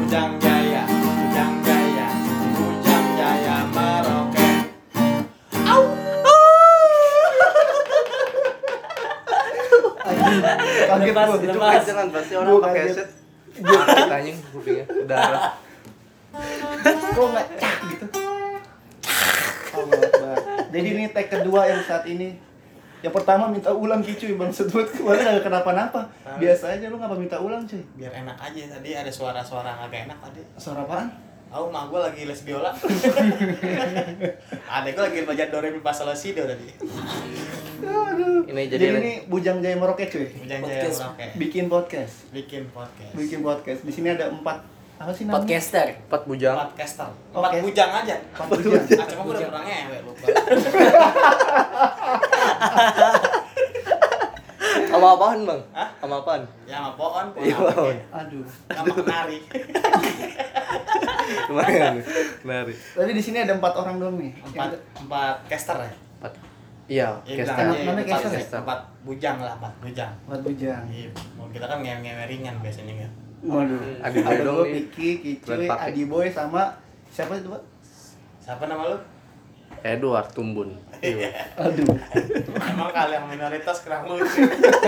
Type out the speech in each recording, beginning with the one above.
Bujang Jaya, Bujang Jaya, Bujang Jaya meroket. Au. Kaget Lepas, gua. lepas. Itu Jangan pasti orang Gua pakai kaget. headset. Sakit anjing kupingnya. Udara. kok nggak cak gitu. Allah Akbar. Jadi ini tag kedua yang saat ini. Yang pertama minta ulang cuy, Bang Sedut kemarin agak kenapa-napa. Biasa aja lu ngapa minta ulang cuy? Biar enak aja, tadi ada suara-suara agak enak tadi. Suara apaan? Aku mah gue lagi les biola. Adek gue lagi belajar do re mi fa sol la si do tadi. Aduh. Ini Jadi jadi ini Bujang Jaya meroket cuy. Bujang Jaya Podcast. meroket. Bikin podcast. Bikin podcast. Bikin podcast. Di sini ada 4 apa sih namanya? Podcaster. 4 bujang. Podcaster. Oke. 4 bujang aja. 4 bujang. Ah, cuma gue udah kurang ngewe lupa. Sama apaan, Bang? Hah? Sama apaan? Ya sama pohon, Iya, pohon. Aduh. sama penari. Lumayan. Nari. Tadi di sini ada 4 orang doang nih. Empat caster ya. 4. Iya, Iya, caster. bilang aja, Namanya empat caster ya? caster. 4 bujang lah, 4 bujang. 4 bujang. Iya, mau kita kan ngewe ringan biasanya kan. Waduh. Adi Ada Boy dong gua, nih. Piki, Kicuy, Buat pakai. Adi Boy sama siapa itu, Pak? Siapa nama lu? Edward Tumbun. Aduh. Emang kalian minoritas kurang lucu.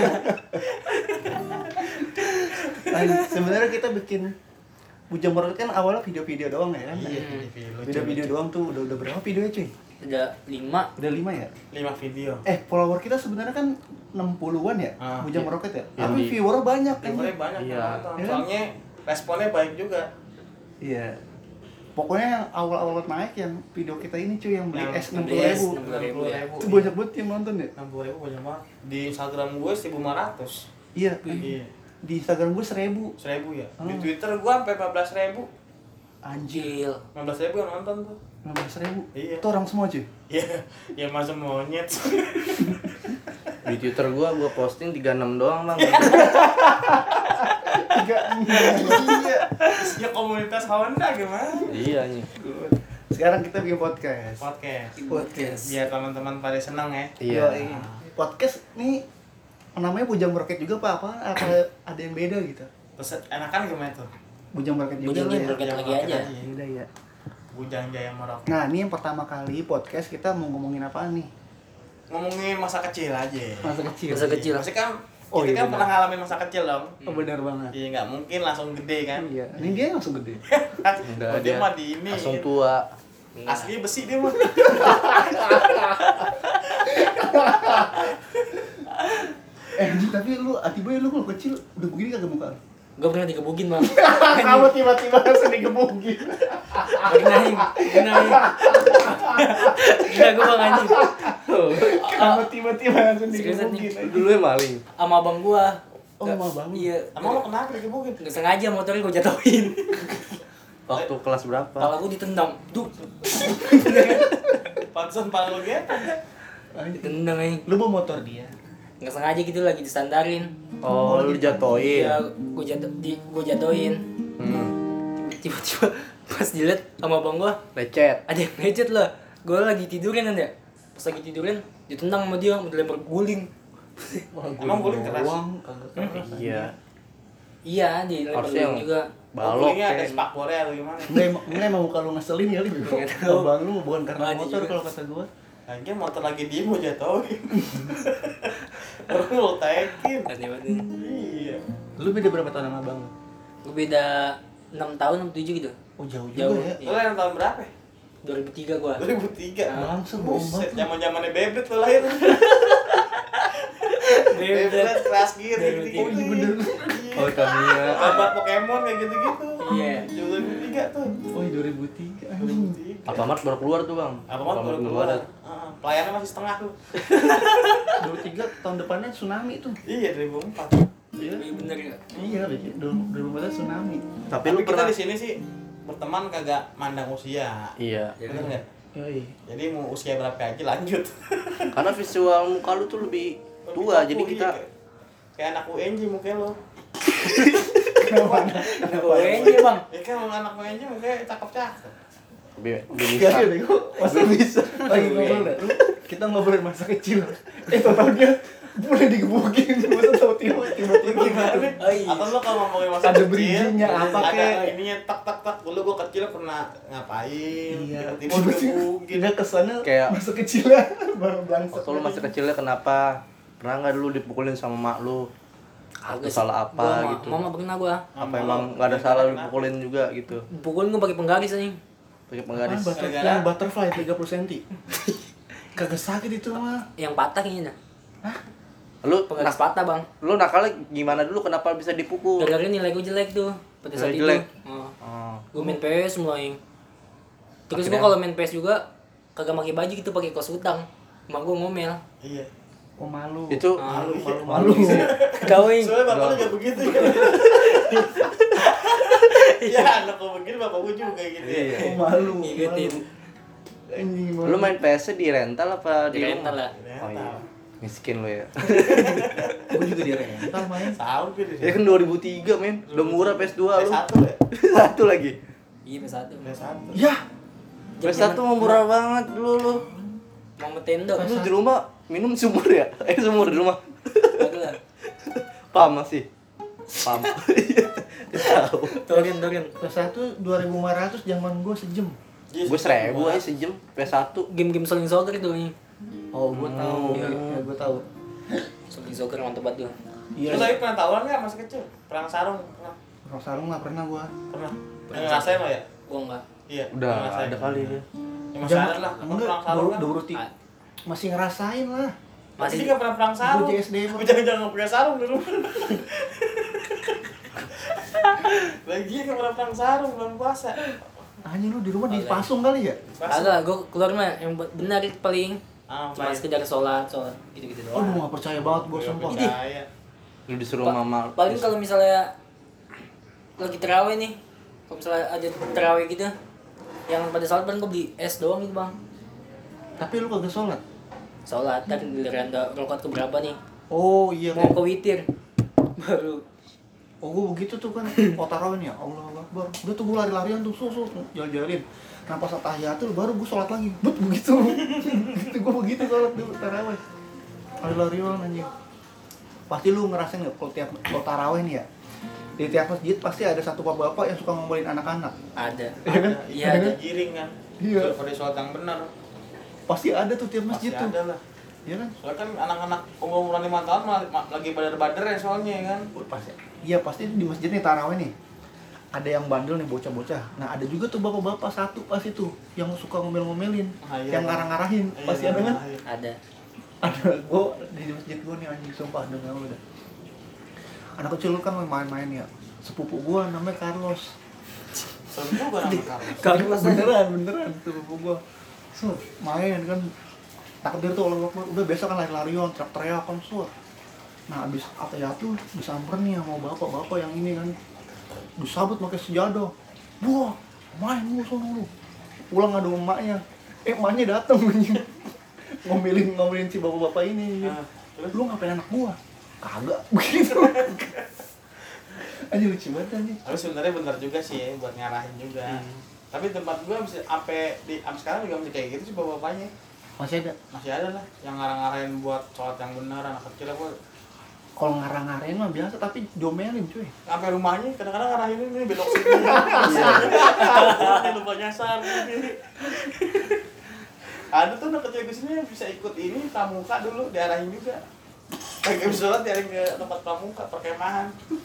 Sebenarnya kita bikin Bujang Meroket kan awalnya video-video doang ya kan? Iya, Video-video doang tuh udah berapa videonya cuy? Ada 5. Udah 5 ya? 5 video. Follower kita sebenarnya kan 60-an ya? Ah, Bujang iya. Meroket ya? Yang Tapi di- viewernya banyak kan? Viewernya banyak Iya. yang nonton. Iya. Soalnya responnya baik juga. Iya. Pokoknya yang awal-awal naik yang video kita ini cuy yang beli Yang es beli 60.000. 60.000 ya. Itu banyak banget yang nonton ya? 60.000 banyak banget. Di Instagram gue 1.500. Iya. Iya. Di Instagram gue 1.000. 1.000 ya. Di Oh. Twitter gue sampai 15.000. Anjir. Gil. 15.000 yang nonton tuh. 15.000. Iya. Itu orang semua cuy. Iya, ya masa monyet. Di Twitter gua posting 36 doang, Bang. Iya. Ya komunitas Honda gimana? Iya nih. Sekarang kita bikin podcast. Podcast. Biar teman-teman pada senang ya. Iya. Yoi. Podcast nih namanya Bujang Meroket juga apa ada yang beda gitu? Terus enakan gimana tuh? Bujang Meroket juga Bujang lah ya. Meroket lagi aja. Beda ya. Bujang Jaya Meroket. Nah, ini yang pertama kali podcast kita mau ngomongin apa nih? Ngomongin masa kecil aja. Masa kecil. Masa kecil. Pasti kan Oh, kita iya kan benar. pernah ngalamin masa kecil dong. Oh, benar banget. Iya nggak mungkin langsung gede kan. Iya. Ini dia yang langsung gede. Udah Dia mah di ini. langsung tua. Asli besi dia mah. Tapi lu Atiboy lu kalau kecil udah begini kagak muka? Gue pernah digebugin, Bang. Kamu tiba-tiba langsung digebukin. Genahin. Gila gue Bang anjing. Kamu tiba-tiba langsung Seriusan nih. digebukin. Dulu maling. Sama abang gua. Oh, sama abang? Iya. Emang lo kenapa digebukin? Nggak sengaja motornya gue jatuhin. Waktu kelas berapa? Kepala gue ditendang. Duh. Pantesan pala lo gitu. Ditendang aja. Lu bawa motor dia. Nggak sengaja gitu lagi disandarin. Oh, lu jatoin. Iya, gue jatuhin. Tiba-tiba pas dilihat sama abang gua, Lecet. ada yang lecet lah. Gue lagi tidurin kan ya. Pas lagi tidurin, ditendang sama dia, mau dilempar guling. Emang guling keras? Iya. Iya, dilempar Harusnya guling juga. Balok. Gulingnya ada kayak- spakbornya atau gimana? Enggak emang muka lu ngeselin kali bro. Nggak tahu. Abang lu bukan karena Makanya motor juga. kalau kata gua. Kayaknya motor lagi diem mau jatuhin. Terus lo taikin. Aneh banget. Iya. Lu beda berapa tahun sama abang lu? Gue beda 6 tahun, 6, 7 gitu. Oh jauh Jauh. juga ya. Lo yang tahun berapa? 2003 gua. 2003. Bangsa bohong Buset, banget. zaman-zamannya bebet lo lahir. Bebet keras gear Bebet. gitu. Oh iya bener. Oh, Tamiya. Gambar Pokemon kayak gitu-gitu. Iya. 2003 tuh. Oh iya 2003. Anjing. 2003. Alfamart baru keluar tuh, Bang. Apa mau baru keluar? Pelayannya masih setengah tuh. 2003 tahun depannya tsunami tuh. Iya 2004. Iya. Iya bener ya. Iya, 2004 tsunami. Tapi Tapi lu kita pernah di sini sih berteman kagak mandang usia. Iya. Bener nggak? Yoi. Jadi mau usia berapa aja lanjut. Karena visual muka lu tuh lebih tua, jadi kita kayak anak UNJ mukanya lo. Kenapa? Kenapa aja, Bang? Ya kan anak UNJ mukanya cakep-cakep. lebih Iya bisa. iya, kok masih bisa. Lagi ngobrol dah. Lu kita ngobrolin masa kecil. Tahu dia Boleh digebukin, masa tahu tiba-tiba Gimana? Oh, iya. Atau lo kalau ngomongin masa Ada kecil, bridging-nya apa, ada kek? ininya tak. Dulu gua kecil pernah ngapain? Iya, Tiba-tiba digebukin. tidak kesana Kayak- masa kecilnya baru bangsa. Waktu lu masih kecilnya kenapa? Pernah nggak dulu dipukulin sama mak lu? Atau Agak salah sih. apa Gua gitu? Mama pernah gua. Apa emang nggak ada salah lu dipukulin juga gitu? Pukulin gua pakai penggaris anjing. Pakai penggaris. Gara-gara- Yang butterfly 30 cm. Kagak sakit itu mah. Yang patah kayaknya dah. Lu Penggaris patah, Bang. lu nakalnya gimana dulu? Kenapa bisa dipukul? Gara-gara nilai gua jelek tuh pada saat Nilai itu. jelek? Oh. Oh. Gua main PS mulu anjing. Terus Akhirnya? gua kalau main PS juga kagak pakai baju gitu, pakai kaos utang. Emak gua ngomel. Iya. Oh malu. Itu malu. Kawin. Soalnya bapak lu juga begitu kan. Ya anak gua begini bapak gua juga gitu ya. Iya. Oh malu. Ngikutin. Anjing malu. Lu main PS di rental apa Di rental rumah? lah. Oh iya. Miskin lu ya. Gua juga di rental main. Tahu gitu. Ya kan 2003 men. Udah murah PS2 lu. PS1 ya. Satu lagi. Iya, PS1. PS1. Ya, PS1 mah murah banget dulu lu. Mau Nintendo. Lu di rumah minum sumur ya? Sumur di rumah. Kagak lah. Pam masih. Pam. Iya. Tahu. Turun. PS1 2.500 zaman gua sejam. Gue 1000 aja sejam PS1. Game-game Selling Soccer tuh nih. Oh, gua tahu. Iya. Ya, gua tahu. Selling Soccer mantep banget tuh. Iya. Lu tapi pernah tahuan nggak masih kecil? Perang sarung pernah? Perang sarung nggak pernah gua. Pernah. Yang ngerasain lo ya? Gua enggak. Iya. Udah ngerasain. ada kali dia. Ya, masih ada lah. Apa Enggak, perang sarung kan? udah masih ngerasain lah. Masih Masih dia nggak pernah perang sarung. Gua JSD Tapi jangan nggak punya sarung di rumah. Lagi dia nggak pernah perang sarung belum puasa. Anjing lu di rumah dipasung kali ya? Kagak, gua keluar mah yang benar itu paling Ah, cuma sekedar sholat gitu-gitu doang. Aduh, nggak percaya banget gua sumpah. Percaya. Lu disuruh mama. Paling kalau misalnya lagi terawih nih, kalau misalnya ada terawih gitu, yang pada sholat paling gua beli es doang gitu bang. Tapi lu kagak sholat. Sholat kan giliran rakaat keberapa nih? Oh iya. Mau ke witir baru. Oh gua begitu tuh kan. Oh tarawih nih ya. Allah Akbar. Udah tuh gua lari-larian tuh susu jalan-jalanin. Nah pas tahiyatul baru gua sholat lagi. Bet begitu. Gitu gua begitu sholat dulu tarawih. Lari-larian anjing. Pasti lu ngerasain nggak kalau tarawih nih ya? Di tiap masjid pasti ada satu bapak-bapak yang suka ngomongin anak-anak. Ada. Iya kan? Iya Ada ada. giring kan. Iya. Pada sholat yang benar. Pasti ada tuh tiap masjid Masih tuh. ada lah. Iya kan? Soalnya kan anak-anak umuran 5 tahun lagi badar-badar ya soalnya ya kan. Pasti. Iya pasti di masjid nih tarawih nih. Ada yang bandel nih bocah-bocah. Nah ada juga tuh bapak-bapak satu pas itu yang suka ngomel-ngomelin, Ah, iya. yang ngarang-ngarahin. Iya, Pasti ada kan? iya. Ada. Ada. Gua di masjid gua nih anjing sumpah dengar lu dah. Anak kecil kan main-main ya. Sepupu gua namanya Carlos. Seru juga nama Carlos. Beneran sepupu gua. Main kan takdir tuh Allah Akbar. Udah biasa kan lari-larian, teriak-teriak kan Nah abis tuh disamperin nih sama bapak-bapak yang ini kan. Disabut pakai sejadah. Wah, main lu sono lu. Pulang ada emaknya. Emaknya datang ngomelin si bapak-bapak ini. Nah, terus? Lu ngapain anak gua? Kagak begitu. Anjir lucu banget anjing. Tapi sebenarnya benar juga sih ya, buat ngarahin juga. Tapi tempat gua bisa sampai sekarang juga masih kayak gitu sih bapak-bapaknya. Masih ada. Masih ada lah yang ngarang-ngarahin buat sholat yang benar anak kecil gua. Kalau ngarang-ngarain mah biasa tapi diomelin cuy. Sampai rumahnya kadang-kadang ngarahin ini belok sini. Ini lupa nyasar gini. Ada tuh anak kecil kesini yang bisa ikut ini pramuka dulu diarahin juga. Lagi habis sholat diarahin ke tempat pramuka perkemahan.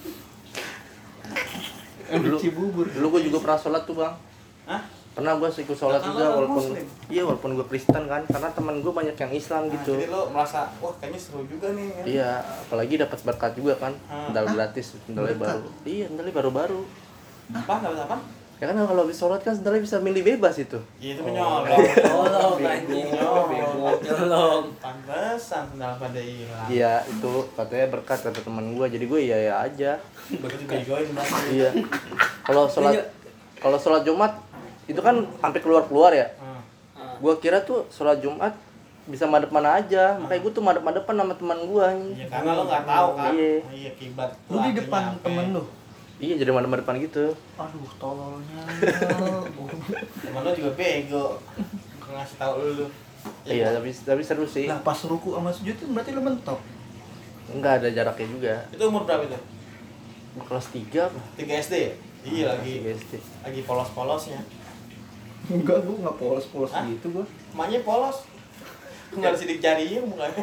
Dulu Cibubur. dulu gue juga pernah sholat tuh bang. Hah? Pernah gue ikut sholat Kan juga lo walaupun Muslim. iya walaupun gue Kristen kan karena teman gue banyak yang Islam Nah, gitu. jadi lo merasa wah kayaknya seru juga nih kan? Iya, apalagi dapat berkat juga kan, medal gratis, medalnya Berkat? baru. Iya, medalnya baru-baru. Apa dapat apa? Ya kan kalau habis sholat kan sebenarnya bisa milih bebas itu. Iya itu menyolong. Tolong anjing. Tolong. Pantesan sendal pada hilang. Iya, itu katanya berkat kata teman gue. Jadi gue iya aja. Begitu begoin banget. Iya. Kalau sholat Jumat itu kan sampai keluar ya. Gue kira tuh sholat Jumat bisa madep mana aja, makanya gue tuh madep-madepan sama teman gue. Iya karena lo nggak tahu kan. Iya. Iya kibat. Lu di depan temen lu. Iya, jadi madep-madepan gitu. Aduh, tololnya. Temen lo juga bego. Ngasih tahu lu. Iya, tapi seru sih. Nah, pas ruku sama sujud itu berarti lu mentok. Enggak ada jaraknya juga. Itu umur berapa itu? Kelas 3 apa? 3 SD ya? Iya lagi. 3 SD. Lagi polos-polosnya. Enggak, gua enggak polos-polos Hah? gitu gua. Emaknya polos. Enggak ada sidik jarinya mukanya.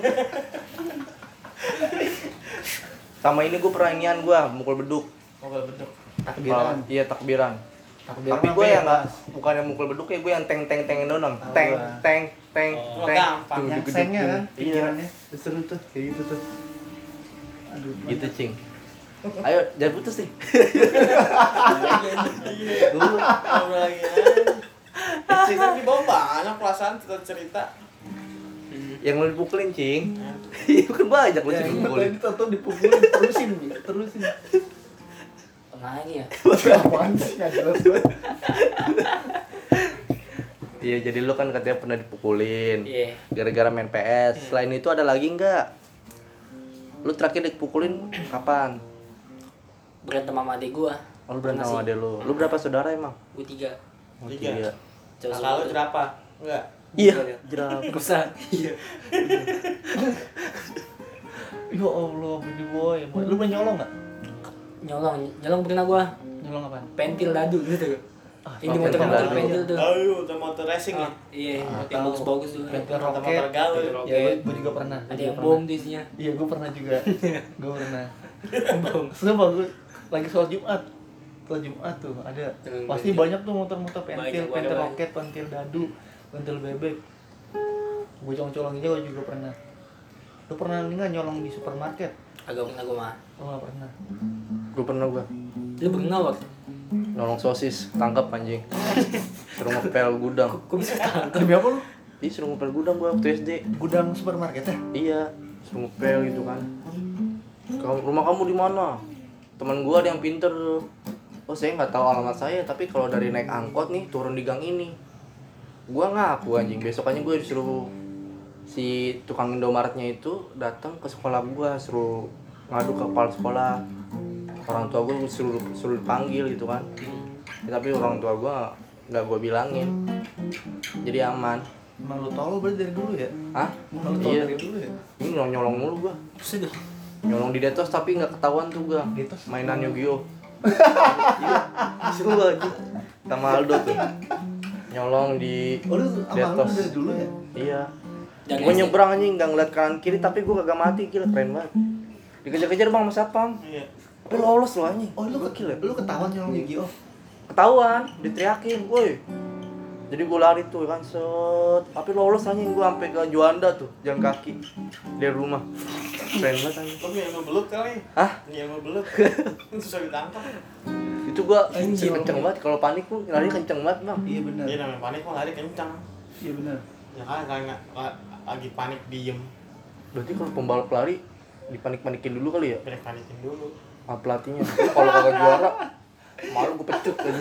Sama ini gue pernah inian gue mukul beduk. Mukul beduk. Takbiran. Iya takbiran. Takbiran Tapi mah gue yang bebas. nggak bukan yang mukul beduk ya, gue yang teng doang. Tahu Teng lah. teng teng Oh, teng. gampang. Yang Duduk-duduk. sengnya kan, Iya. pikirannya. Seru tuh, kayak gitu tuh. Aduh, Gitu cing. Ayo jangan putus nih. Iya. Ngobrol lagi aja. Cerita di bawah banyak perasaan cerita. Yang lo dipukulin cing. Iya kan banyak lo ya, cing ini dipukulin. tahu dipukulin terusin. Pernah lagi ya? Apaan sih nggak jelas banget. Iya jadi lo kan katanya pernah dipukulin. Iya. Gara-gara main PS. Selain itu ada lagi nggak? Lo terakhir dipukulin kapan? Berantem sama adik gua. Oh, lo berantem sama Pernah sih. adek lo. Lo berapa saudara emang? Gua 3. Oh, 3. Cowok Kalau semua. jerapah? Enggak. Iya. Jerap. Rusak. Iya. Ya Allah, baby boy. Lu pernah nyolong nggak? Nyolong pernah gua. Nyolong apaan? Pentil dadu gitu. Ini pentil motor-motor dadu. pentil tuh. Ayo, motor racing ya. Iya, Ah, yang tahu. bagus-bagus tuh. Pentil Motor roket. gaul. Ya, gua juga pernah. Ada Gua yang pernah. bom di isinya. Iya, gua pernah juga. Gua pernah. Sumpah gua lagi sholat Jumat. Sholat Jumat tuh ada. Dengan Pasti pentil. banyak tuh motor-motor pentil, Banyak, pentil banyak. roket, pentil dadu, pentil bebek. Gua colong-colongin gua juga pernah. Lu pernah nggak nyolong di supermarket? Agak pernah gua mah. Oh, nggak pernah. Gue pernah gue Lu bengal waktu. nolong sosis, tangkap anjing. Suruh ngepel gudang. Kok bisa tangkap? Demi apa lu? Ih suruh ngepel gudang gue waktu SD. Gudang supermarket ya? Iya, suruh ngepel gitu kan. Rumah kamu di mana? Teman gue ada yang pinter tuh. Oh saya nggak tahu alamat saya, tapi kalau dari naik angkot nih turun di gang ini. Gue ngaku anjing. Besokannya gue disuruh si tukang Indomaretnya itu datang ke sekolah gue, suruh ngadu ke kepala sekolah. Orang tua gue suruh dipanggil gitu kan. Ya, tapi orang tua gue nggak gue bilangin. Jadi aman. Emang lu tolol berarti dari dulu ya? Hah? Emang lu tolol Iya. dari dulu ya? Ini nyolong mulu gue. Sudah. Nyolong di Detos tapi nggak ketahuan tuh gue. Detos? Mainan Yu-Gi-Oh. Iya. Seru aja. Sama Aldo tuh. Nyolong di Oh, lu sama lu Detos. dari dulu ya? Iya. Dari Gue SD. nyebrang anjing nggak ngeliat kanan kiri tapi gue kagak mati, gila keren banget. Dikejar-kejar bang sama Sapam. Iya. Tapi lolos lo anjing. Oh, lu Gokil ya. lu ketahuan nyolong Yu-Gi-Oh? Ketahuan, diteriakin, woi. Jadi gue lari tuh kan set. Tapi lolos anjing gue sampai ke Juanda tuh, jalan kaki dari rumah. Keren banget anjing. Lu punya ilmu belut kali. Hah? Punya ilmu belut. Susah ditangkap. Itu gue Anjing. kenceng banget. Kalau panik tuh lari kenceng banget bang. Iya benar. Dia namanya panik mah lari kencang. Iya benar. Ya kan kalau nggak lagi panik diem. Berarti kalau pembalap lari dipanik-panikin dulu kali ya? Panikin dulu. Sama pelatihnya. Tapi kalau kagak juara, malu gue pecut aja.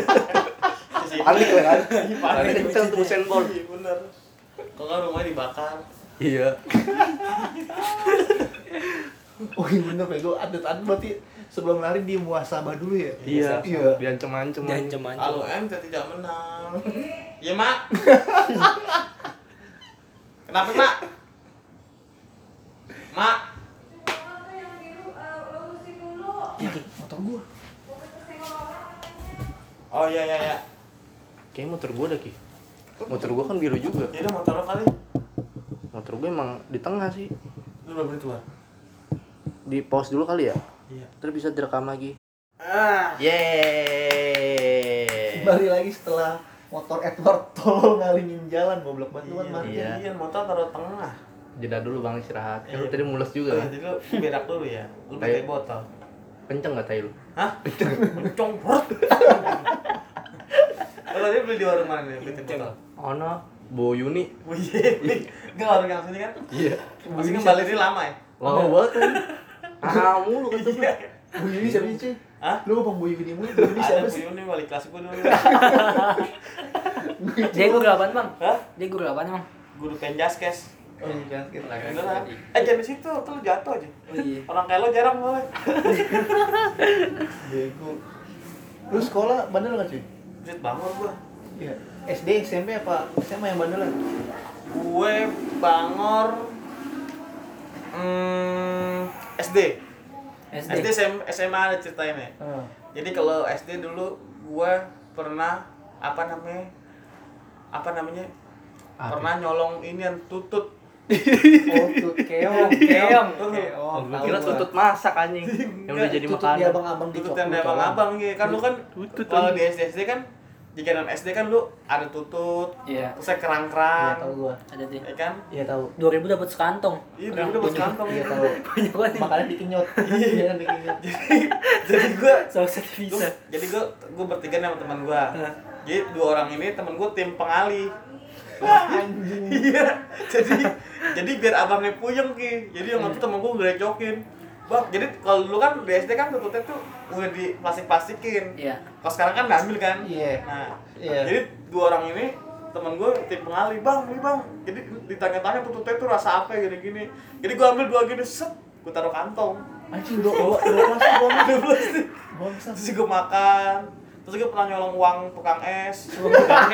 Panik lah kan? Lari kenceng tuh Usain Bolt. Iya bener. Kalau nggak rumahnya dibakar. Iya. Oh iya bener, Pego. Atlet-atlet berarti sebelum lari dia muasabah dulu ya? Iya. Iya. Diancem-ancem. Diancem-ancem. Kalau ente tidak menang. Iya mak. Kenapa mak? Mak. Motor gua. Oh iya iya iya. Kayaknya motor gue dah Ki. Motor gue kan biru juga. Ya udah motor lo kali. Motor gue emang di tengah sih. Lu udah beli tua. Di pause dulu kali ya. Iya. Terus bisa direkam lagi. Ah. Yeay. Kembali lagi setelah motor Edward tolol ngalingin jalan, goblok banget lu kan Mar. Iya. Iya, motor taruh tengah. Jeda dulu bang istirahat. Kan lu Iya. tadi mules juga Oh, kan? jadi lu berak dulu ya. Lu pakai Ayo. botol. Kenceng gak tai lu? Hah? Kencong perut. Kalau dia beli di warung mana nih? Beli botol. Oh no. Bo Yuni. Oh iya. Enggak warung yang sini kan? Iya. Masih kembali ini lama ya? Lama banget kan? Ah mulu kan tuh. Iya. Bu Yuni siapa sih? Hah? Lu ngomong Bu Yuni mulu, Bu Yuni Ada siapa Bu sih? Yuni wali kelas gue dulu. Dia guru apaan, Bang? Hah? Dia guru apaan, Bang? Guru penjaskes. Oh iya, kita lagi. Beneran. Jangan di situ, tuh lu jatuh aja. Oh iya. Orang kayak lo jarang boleh. Bego. Lu sekolah bandel enggak, cuy? Buset bangor gua. Iya. SD, SMP apa SMA yang bandelan? Gue bangor SD. SD SMA ada ceritanya. Jadi kalau SD dulu gua pernah apa namanya? Pernah nyolong inian tutut. Oh, keong. Oh, gua kira tutut masak anjing. Yang udah jadi Tutut makanan. di abang-abang di Tutut yang dari abang-abang gitu. Kan lu kan kalau di SD kan jajanan SD kan lu ada tutut, Iya. terus ada Iya kerang-kerang, tahu gua. Ada deh. ya kan? Iya tahu. 2000 dapat sekantong. Iya, dulu udah buat kantong. Iya tahu. Banyak banget. Makanya dikenyot. Iya dikenyot. Jadi gua Salah satu bisa. jadi gua bertiga sama teman gua. Jadi dua orang ini teman gua tim pengali. Anjing. Iya. Jadi biar abangnya puyeng Ki. Jadi yang itu temen gua direcokin. Bang, jadi kalau dulu kan di SD kan tututnya tuh udah di plastik-plastikin. Iya. Kalau sekarang kan diambil kan? Iya. Nah, Iya. jadi dua orang ini temen gue tim pengali, bang, ini bang. Jadi ditanya-tanya tututnya tuh rasa apa gini-gini. Jadi gue ambil dua gini, set, gue taruh kantong. Anjing dua plastik gua. Dua plastik. Bangsat. Terus gue makan. Terus gue pernah nyolong uang tukang es. Gue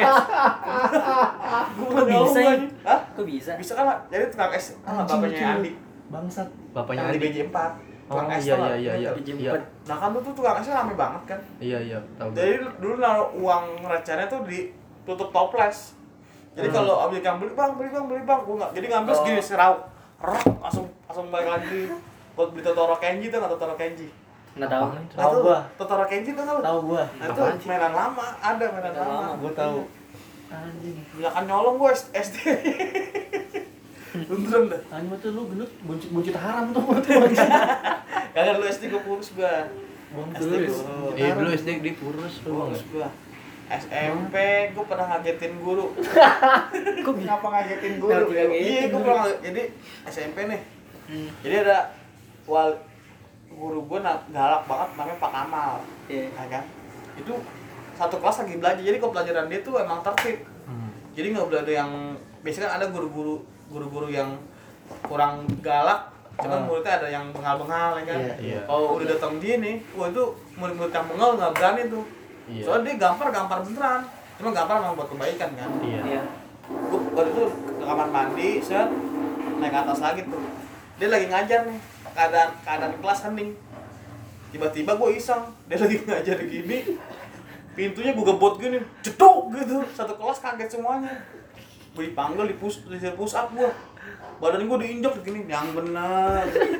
Kok bisa ya? Hah? Kok bisa? Bisa kan? Jadi tukang es, bapaknya Andi. Bangsat. Bapaknya Yang di Andi. BJ4. Tukang Oh es iya tau nggak? iya iya. Iya. Nah kan tuh tukang esnya rame banget kan. Iya tahu. Jadi dulu naruh uang recehnya tuh di tutup toples. Jadi kalau abis yang beli bang, gue nggak. Jadi ngambil segini serau, langsung balik lagi. Buat beli Totoro Kenji tuh nggak Totoro Kenji? Nggak tahu. Tahu gua. Totoro Kenji tuh nggak? Tahu gua. Nah itu mainan lama, ada mainan lama. Gua tahu. Anjing. Ya kan nyolong gue SD. Beneran dah. Anjing tuh lu gendut buncit haram tuh. Kagak lu SD gue kurus gue. SD Kurus. kurus. Dulu SD di Purus lu bang. Kurus gue. SMP gue pernah ngagetin guru. Kok bisa? Ngapa ngagetin guru? Kenapa ngagetin Iya, gue guru? pernah jadi SMP nih. Jadi ada guru gue galak banget namanya Pak Kamal. Iya. Ya kan? Itu satu kelas lagi belajar. Jadi kalau pelajaran dia tuh emang tertib. Jadi nggak boleh ada yang biasanya kan ada guru-guru yang kurang galak, cuman muridnya ada yang bengal-bengal ya kan. Iya. Kalau udah datang dia nih, wah itu murid-murid yang bengal nggak berani tuh. Iya. Soalnya dia gampar beneran. Cuma gampar memang buat kebaikan kan. Iya. Gue waktu itu ke kamar mandi, set naik ke atas lagi tuh. Dia lagi ngajar nih, keadaan kelas hening. Tiba-tiba gue iseng, dia lagi ngajar gini, pintunya gue gebot gini, jeduk gitu. Satu kelas kaget semuanya. Gue dipanggil, di push up gue. Badan gue diinjak gini, yang benar.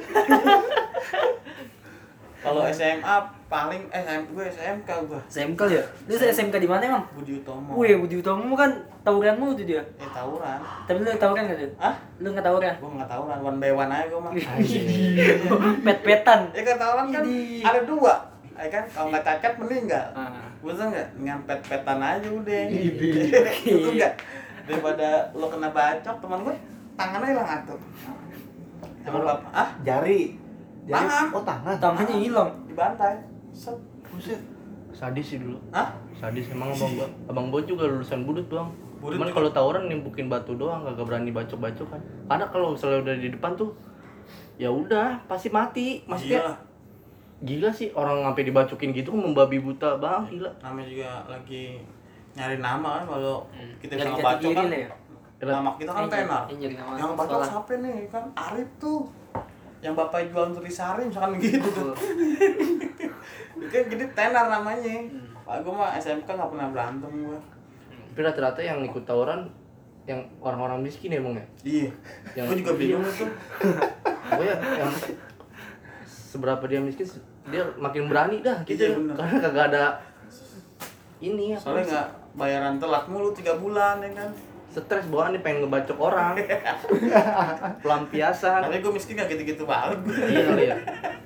Kalau SMA paling gue SMK gue. SMK ya? Lu SMK di mana emang? Budi Utomo. Wih, Budi Utomo kan tawuranmu tuh dia. Tawuran. Tapi lu tawuran nggak tuh? Hah? Lu nggak tawuran? Gue nggak tawuran, one by one aja gue mah. Pet-petan. Ya kan tawuran kan Idih. ada dua. Ya kan kalau nggak cacat meninggal. Ah. Betul nggak? Dengan pet-petan aja udah. Idih. Betul nggak? Daripada lo kena bacok, teman gue tangannya hilang atuh. Sama bapak, ah Jari. Tangan. Oh tangan. Tangannya hilang. dibantai. Set. Buset. Sadis sih dulu. Hah? Sadis emang abang gua juga lulusan budut doang. Budut Cuman juga. kalau tawuran nimpukin batu doang, kagak berani bacok-bacok kan. Karena kalau misalnya udah di depan tuh ya udah pasti mati. Maksudnya Iya. gila sih orang sampai dibacokin gitu membabi buta bang, gila. Namanya juga lagi nyari nama kan kalau kita bisa Lagi jati ngebacok diri kan. lah ya. Nama kita kan tenar. Jadi nama Yang bacok sekolah. siapa nih? Kan Arif tuh. Yang bapak jual nutrisari misalkan gitu tuh. Itu jadi tenar namanya. Pak gue mah SMK nggak pernah berantem gue. Tapi rata-rata yang ikut tawuran yang orang-orang miskin ya bang ya. Iya. Yang- Gue juga bingung tuh. Pokoknya yang seberapa dia miskin dia makin berani dah gitu. Iya, bener. Karena kagak ada ini ya. Soalnya nggak bayaran telat mulu 3 bulan ya kan. Stres bawaannya pengen ngebacok orang. Pelampiasan. Tapi gue miskin nggak gitu-gitu banget. Iya kali ya.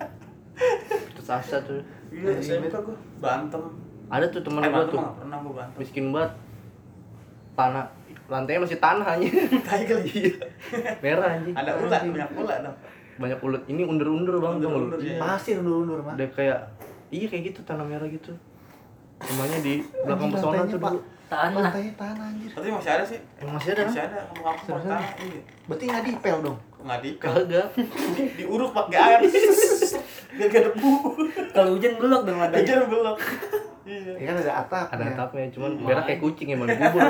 Terus asa tuh. Iya, SMK gue berantem. Ada tuh temen gua Berantem tuh nggak pernah gue berantem. miskin banget. Tanah lantainya masih tanah aja. Kayak kali. Merah anjing. Ada ulat, banyak ulat dong. Banyak ulet. Ini undur-undur bang. tau nggak lu? Undur-undur, iya. Pasir undur-undur mah. Udah kayak iya kayak gitu tanah merah gitu. Rumahnya di belakang Anjing, pesona lantainya, tuh Pak. dulu. Tanah. Lantainya tanah anjir. Tapi masih ada sih. Emang masih ada? Masih ada kampung-kampung Seriusan? tanah. Iya. Berarti nggak dipel dong. Nggak di Kagak. diuruk pakai air. Biar gak debu. Kalau hujan belok dong ada. Aja belum. Iya. Ya kan ada atap. Ada atapnya, cuman merah kayak kucing emang dikubur.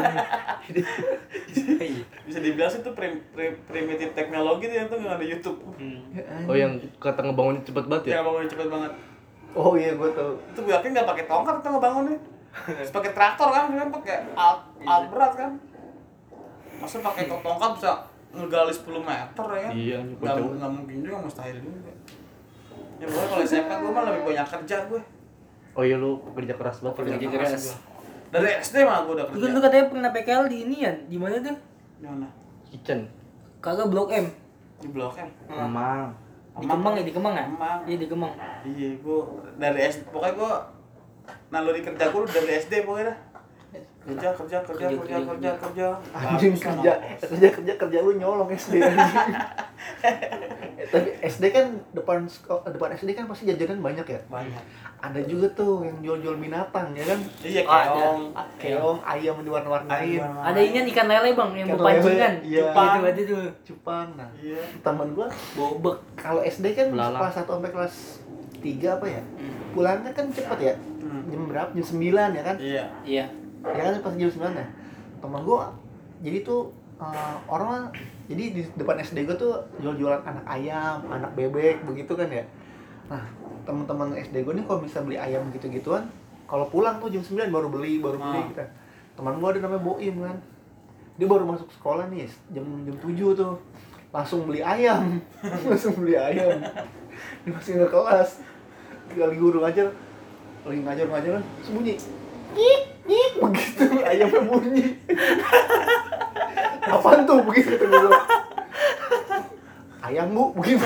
Bisa dibilang sih itu primitif teknologi tuh yang tuh nggak ada YouTube. Oh yang kata ngebangun cepet banget ya? Ya bangunnya cepet banget. Oh iya gue tau. Itu gue yakin nggak pakai tongkat itu ngebangunnya. Terus pakai traktor kan pakai alat berat kan. Masa pakai tongkat bisa ngegali 10 meter ya kan? Iya, nggak mungkin juga, mustahil juga. Ya gue kalau SMA gue mah lebih banyak kerja gue. Oh iya lu kerja keras banget. Kerja keras. Dari SD mah gue udah Lu kerja. kan katanya pernah PKL di ini ya? Di mana tuh? Di mana? Kitchen. Kagak Blok M. Di Blok M. Emang. Di Kemang ya, di Kemang ya? Kemang. Iya di Kemang. Iya, gue dari SD, pokoknya gue naluri kerja gue dari SD pokoknya dah. Kerja. Anjing kerja lu nyolong SD anjing. Tapi SD kan depan SD kan pasti jajanan banyak ya. Banyak. Ada juga tuh yang jual-jual binatang ya kan. Iya, Oh, Keong, ayam diwarna-warnain. Ada ini ikan lele bang yang Ikan berpancingan. lele, iya. Itu ada tuh. Cupang. Nah, Iya. teman gua Bobek. kalau SD kan Belalang. kelas 1 sampai kelas 3 apa ya? Pulangnya kan cepet ya. Jam berapa? Jam 9 ya kan? Iya. Iya. Ya kan pas jam 9 ya. Teman gua jadi tuh orang jadi di depan SD gua tuh jual-jualan anak ayam, anak bebek begitu kan ya. Nah, teman-teman SD gua nih kalau bisa beli ayam gitu-gituan, kalau pulang tuh jam 9 baru beli gitu. Teman gua ada namanya Boim kan. Dia baru masuk sekolah nih jam 7 tuh. Langsung beli ayam. Dimasukin ke kelas. Kali guru ngajar, lagi ngajar sembunyi. Nyik begitu ayamnya bunyi. Apaan tuh begitu guru? Ayam bu begitu.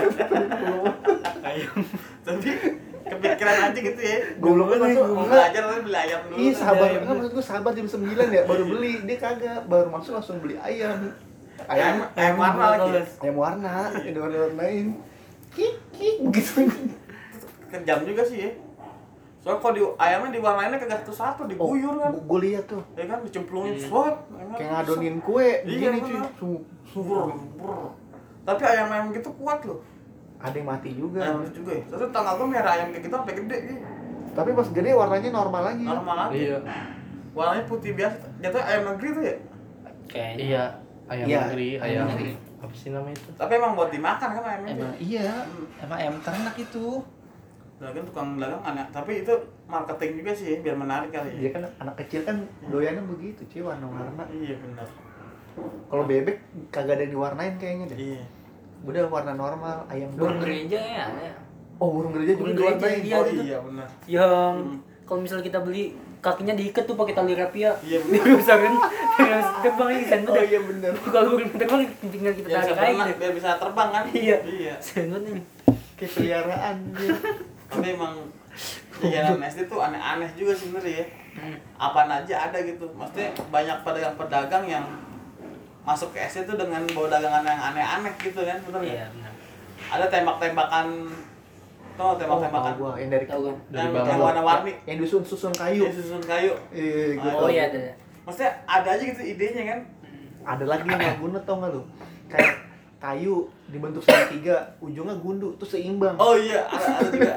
Ayam. Tapi kepikiran aja gitu ya. Goblok kan masuk Mau belajar tapi beli ayam dulu. Iya sahabat kan maksud gue sahabat jam 9 ya baru beli, dia kagak baru masuk langsung beli ayam. Ayam warna lagi. Ayam warna, warna-warnain. Kik begitu. Kejam juga sih ya. Soalnya kalau ayamnya diwarnainnya kagak satu-satu, diguyur kan. Gue lihat tuh. Ya kan dicemplungin swat. Kayak ngadonin kue Iya, begini cuy. bener. Tapi ayam gitu kuat loh. Ada yang mati juga. Ayam itu juga ya. Terus tanggal gue merah ayam kayak gitu sampai gede gitu. Tapi pas gede warnanya normal lagi. Normal aja. Iya. Warnanya putih biasa. Jatuhnya ayam negeri tuh ya. Kayaknya. Iya. Ayam Iya, negeri, ayam ayam negeri. apa sih namanya itu? Tapi emang buat dimakan kan ayamnya. Emang iya, emang ayam ternak itu. Dagang tukang dagang aneh. Tapi itu marketing juga sih ya, biar menarik kali Dia ya. kan anak kecil kan doyannya begitu cuy, warna-warna. Iya benar. Kalau bebek kagak ada yang diwarnain kayaknya deh. Iya. Udah warna normal, ayam Burung doang. gereja ya ada. Oh, burung gereja juga Burung gereja, diwarnain. iya. Oh gitu. iya benar. Yang kalau misalnya kita beli kakinya diikat tuh pakai tali rapia. Iya, Dia bener. bisa kan terbang ini sen Oh iya bener. Kalau burung terbang tinggal kita Biar bisa, tarik aja gitu. biar bisa terbang kan? Iya. Iya. Sen nih. Kayak peliharaan dia. Tapi emang jajanan SD tuh aneh-aneh juga sebenarnya ya. Apaan aja ada gitu. Maksudnya banyak pedagang-pedagang yang masuk ke SD tuh dengan bawa dagangan yang aneh-aneh gitu kan, bener nggak? Iya benar. Ada tembak-tembakan, tuh tembak-tembakan Gua yang dari Tahu kan? yang bambu. warna-warni, yang disusun kayu. yang susun kayu. Iya, gua Oh tahu. iya ada. Maksudnya ada aja gitu idenya kan? Ada lagi yang nggak guna tau nggak lu? Kayak kayu dibentuk segitiga, ujungnya gundu, tuh seimbang. Oh iya, ada juga,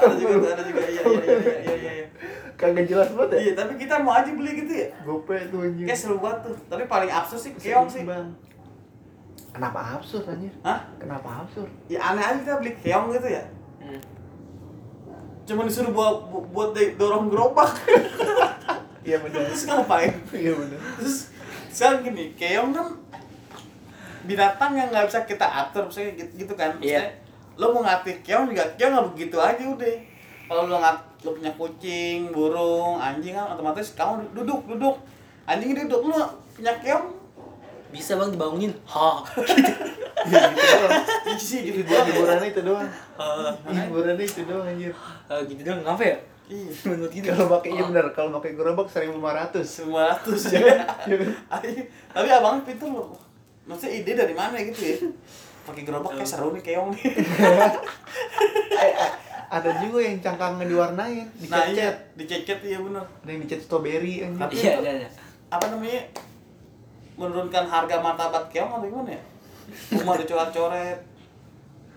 iya. Kagak jelas banget ya? Iya, tapi kita mau aja beli gitu ya. Gope tuh anjir. Kayak seru banget tuh. Tapi paling absurd sih keong sih. Seimbang. Kenapa absurd anjir? Hah? Kenapa absurd? Ya aneh aja kita beli keong gitu ya. Cuma disuruh buat dorong gerobak. Iya benar. Terus ngapain? Iya benar. Terus sekarang gini, keong kan binatang yang nggak bisa kita atur, misalnya gitu kan. Maksudnya, lo mau ngatih keong juga, keong nggak begitu aja udah. Kalau lo punya kucing, burung, anjing kan otomatis kamu duduk. Anjing duduk, lo punya keong Bisa bang dibangunin. Ha. Iya gitu doang. isi gitu doang. Hiburannya itu doang. Hiburannya itu doang anjir. Gitu dong ngapa ya? Iya. Menurut gitu. Kalau pakai iya benar, kalau pakai gerobak 1.500. Semua ratus ya. Tapi abang pintar loh. Maksudnya ide dari mana gitu ya? Pakai gerobak kayak seru nih keong nih. Ada juga yang cangkangnya diwarnain, Nah iya, dicet-cet. dicecet iya benar. Ada yang dicet strawberry anjir. Tapi Iya itu ada. apa namanya? Menurunkan harga martabat keong atau gimana ya? Rumah dicoret-coret.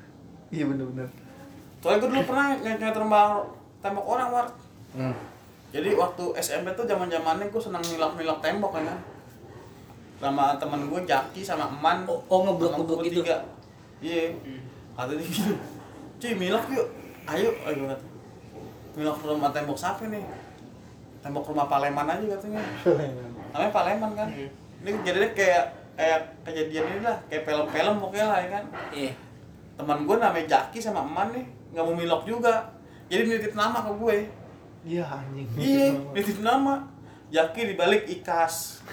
Iya benar-benar. Soalnya gue dulu pernah nyoret tembok orang, War. Jadi waktu SMP tuh zaman-zamannya gue senang nilak-nilak tembok kan. Sama temen gue Jaki sama Eman. Ngeblok-ngeblok sama gitu. bertiga. Iya. Kata dia gitu. Cuy, milak yuk. Ayo kata. Milak rumah tembok siapa nih? Tembok rumah Paleman aja katanya. Namanya Paleman kan. Ini jadinya kayak kejadian ini lah, kayak film-film pokoknya lah ya kan. Iya. Teman gue namanya Jaki sama Eman nih, nggak mau milok juga. Jadi nitip nama ke gue. Iya anjing. Iya, nitip nama. Jaki dibalik Ikas.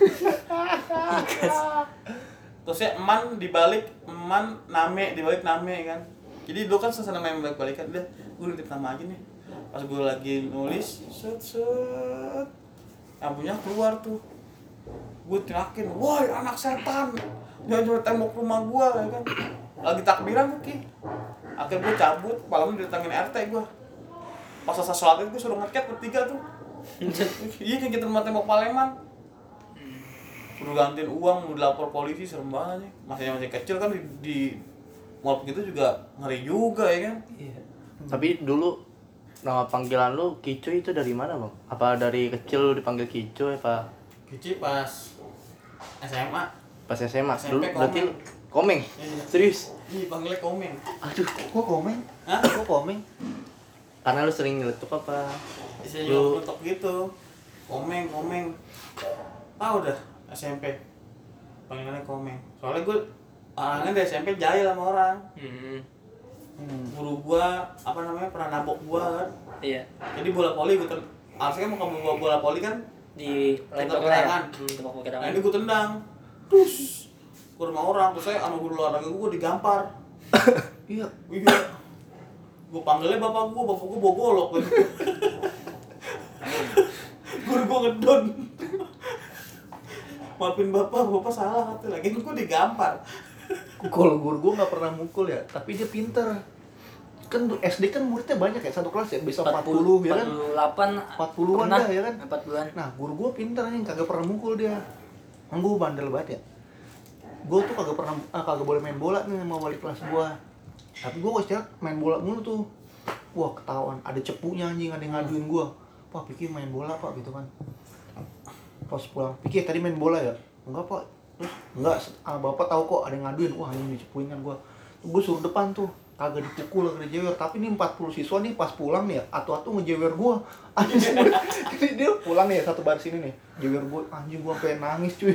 Terus ya Eman dibalik Name dibalik Name kan. Jadi dulu kan senang main balik-balikan. Udah, gue nitip nama aja nih. Pas gue lagi nulis, set, lampunya keluar tuh. Gue teriakin, woi anak setan, jangan coba tembok rumah gue ya kan. Lagi takbiran tuh Ki. Akhirnya gue cabut, malam didatangin RT gue. Pas selesai sholat itu gue suruh ngechat bertiga tuh. Iya kayak gitu rumah tembok Paleman. Udah gantiin uang, udah lapor polisi, serem banget nih. Masih kecil kan di mall gitu juga ngeri juga ya kan. Iya. Tapi dulu nama panggilan lu Kicu itu dari mana bang? Apa dari kecil lu dipanggil Kicu apa? Kici pas SMA. Pas SMA? SMP Dulu berarti lu Komeng? Iya. Serius? Ih, panggilnya Komeng. Aduh, kok komen? Hah? Kok komen? Karena lu sering nyeletuk apa? Bisa Lu- nyelotok gitu. Komeng. Tahu dah SMP. Panggilannya Komeng. Soalnya gue orangnya dari SMP jahil sama orang. Guru gua pernah nabok gua kan. Iya. Jadi bola voli gue harusnya kan mau ke bola voli kan Di Tembak lempar ya. tangan. Tembak pakai nah tangan. ini gue tendang terus ke rumah orang, terus saya sama guru olahraga gue digampar. Iya. Iya, gue panggilnya bapak gue bawa golok kan. Guru gue ngedon. Maafin bapak salah katanya, lagi gue digampar. Kalau guru gue nggak pernah mukul ya, tapi dia pinter. Kan SD kan muridnya banyak ya, satu kelas ya bisa 40 ya kan? 48 40-an dah ya kan? 40-an. Nah, guru gue pinter nih, kagak pernah mukul dia. Kan gue bandel banget ya. Gue tuh kagak boleh main bola nih sama wali kelas gue. Tapi gue istirahat main bola mulu tuh. Wah, ketahuan ada cepunya anjing, ada yang ngaduin gue. Pak, Piki main bola pak gitu kan. Pas pulang, Piki tadi main bola ya? Enggak pak. Terus enggak, bapak tahu kok ada yang ngaduin. Wah, anjing dicepuin kan gue. Gue suruh depan tuh. Kagak dipukul, kagak dijewer, tapi nih 40 siswa nih pas pulang nih ya, atu-atu ngejewer gua. Anjing. Jadi dia pulang nih ya, satu baris ini nih, jewer gua, anjing gua sampai nangis cuy.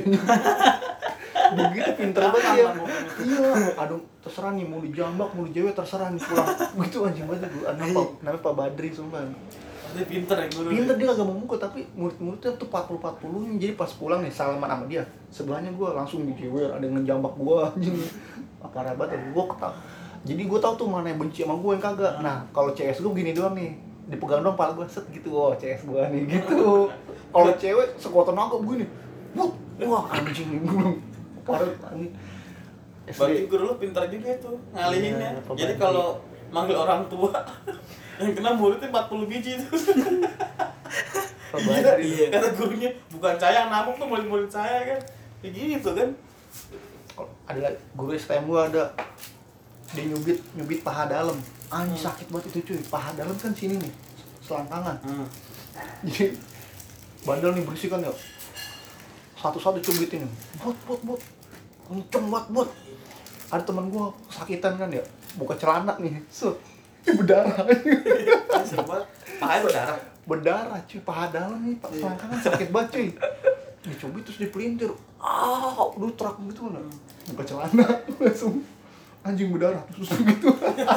Begitu pinter banget ya. Iya, aduh terserah nih mau dijambak, mau dijewer terserah nih pulang. Gitu anjing banget gua. Namanya Pak Badri sumpah. Dia pinter ya guru. Pinter dia kagak mau mukul, tapi murid-muridnya tuh 40 nih. Jadi pas pulang nih salaman sama dia, sebelahnya gua langsung dijewer, ada yang ngejambak gua anjing. Parah banget ya, gua ketawa. Jadi gue tau tuh mana yang benci sama gue yang kagak. Nah kalau CS gue gini doang nih, dipegang doang pala gue set gitu. Oh CS gue nih gitu. Kalau cewek sekuatan naga begini, wah anjing gue parah anjing. Berarti guru lu pinter juga itu ngalihinnya. Iya, Pak Jadi Badri. kalau manggil orang tua yang kena muridnya 40 biji itu. Pak Badri. Iya. Kata gurunya, bukan saya yang nabok tuh murid-murid saya kan. Kayak gitu kan. Ada lagi, guru STM gue ada, dia nyubit paha dalam. Anjing sakit banget itu cuy. Paha dalam kan sini nih, selangkangan. Jadi bandel nih berisik kan ya. Satu-satu cubitin. Bot. Kenceng banget, bot. Ada teman gua sakitan kan ya. Buka celana nih. Set. Berdarah. Sempat pahanya berdarah. Berdarah cuy, paha dalam nih, Pak. Selangkangan sakit banget cuy. Dicubit terus dipelintir. Udah terak gitu kan. Buka celana langsung anjing berdarah terus gitu.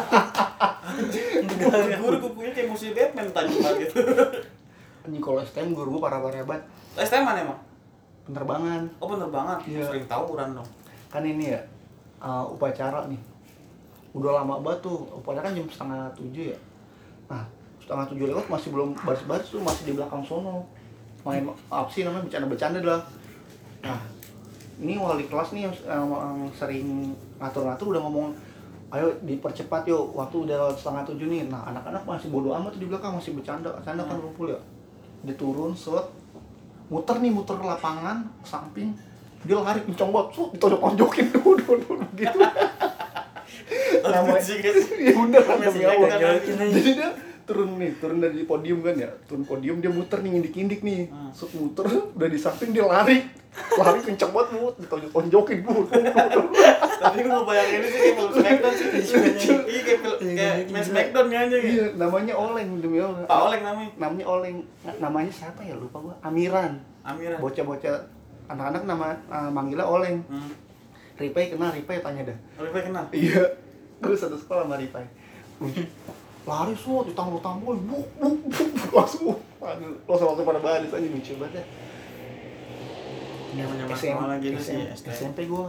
Guru kukunya kayak musuh Batman tadi gitu. Anjing kalau STM guru gua parah-parah banget. STM mana emang? Penerbangan. Oh bener banget. Iya. Sering tawuran dong. Kan ini ya upacara nih. Udah lama banget tuh. Upacara kan jam 6:30 ya. Nah, 6:30 lewat masih belum baris-baris tuh, masih di belakang sono. Main apa sih namanya, bercanda-bercanda dah. Nah, ini wali kelas nih yang sering ngatur-ngatur udah ngomong, ayo dipercepat yuk, waktu udah 6:30 nih. Nah, anak-anak masih bodo amat tuh di belakang, masih bercanda kan rumpul ya. Dia turun, set, muter lapangan, samping, dia lari kencang banget, ditonjok-tonjokin dulu gitu. Namanya, ya udah kan demi Allah. Jadi dia turun dari podium kan ya, turun podium dia muter nih, ngindik nih, muter udah di samping dia lari kenceng banget bu, ditonjokin bu. Tapi gue ngebayangin ini sih kayak film Smackdown sih. Iya kayak main Smackdown aja gitu. Iya, namanya Oleng demi Allah. Pak Oleng namanya. Namanya Oleng, namanya siapa ya lupa gua, Amiran. Bocah-bocah anak-anak manggilnya Oleng. Ripai kenal, Ripai tanya dah. Ripai kenal? Iya, gue satu sekolah sama Ripai. Lari semua, ditambol-tambol, buk, langsung pada baris aja, lucu banget ya. SMP gue,